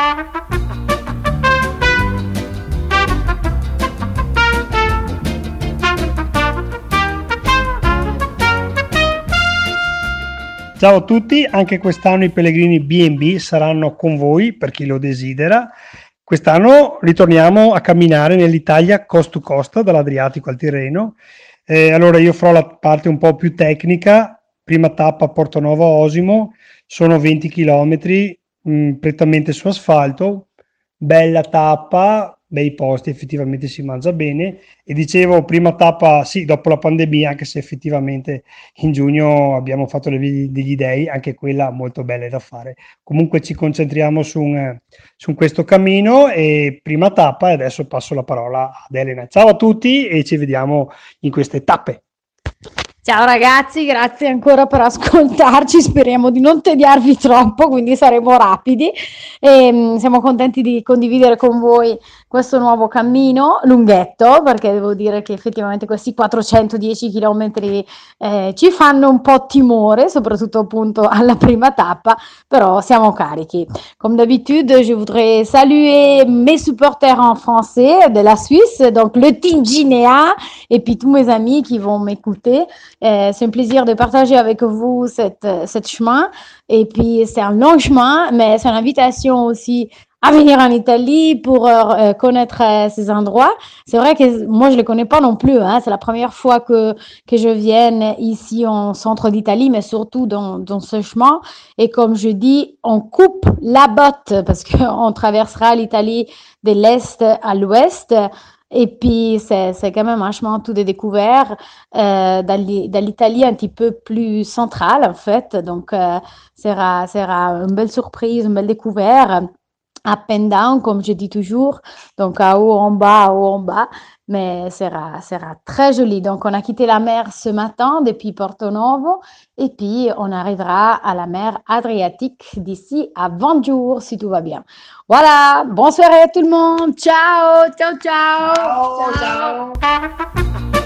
Ciao a tutti, anche quest'anno i pellegrini B&B saranno con voi per chi lo desidera. Quest'anno ritorniamo a camminare nell'Italia coast to coast, dall'Adriatico al Tirreno. Allora io farò la parte un po' più tecnica, prima tappa Portonovo Osimo, sono 20 km prettamente su asfalto, bella tappa, bei posti, effettivamente si mangia bene. E dicevo, prima tappa, sì, dopo la pandemia, anche se effettivamente in giugno abbiamo fatto le vie degli dei, anche quella molto bella da fare. Comunque ci concentriamo su questo cammino e prima tappa, e adesso passo la parola ad Elena. Ciao a tutti e ci vediamo in queste tappe. Ciao ragazzi, grazie ancora per ascoltarci, speriamo di non tediarvi troppo, quindi saremo rapidi e siamo contenti di condividere con voi questo nuovo cammino lunghetto, perché devo dire che effettivamente questi 410 km ci fanno un po' timore, soprattutto appunto alla prima tappa, però siamo carichi. Comme d'habitude, je voudrais saluer mes supporters en français de la Suisse, donc le team Ginea et puis tous mes amis qui vont m'écouter. C'est un plaisir de partager avec vous cette chemin. Et puis, c'est un long chemin, mais c'est une invitation aussi à venir en Italie pour connaître ces endroits. C'est vrai que moi, je ne les connais pas non plus. Hein. C'est la première fois que je vienne ici en centre d'Italie, mais surtout dans ce chemin. Et comme je dis, on coupe la botte parce qu'on traversera l'Italie de l'Est à l'Ouest. Et puis, c'est quand même un chemin tout de découvert dans l'Italie un petit peu plus centrale, en fait. Donc, sera une belle surprise, une belle découverte. Up and down, comme je dis toujours. Donc, à haut en bas. Mais sera très joli. Donc, on a quitté la mer ce matin depuis Porto Novo. Et puis, on arrivera à la mer Adriatique d'ici à 20 jours, si tout va bien. Voilà, bonne soirée à tout le monde. Ciao, ciao, ciao. Ciao, ciao.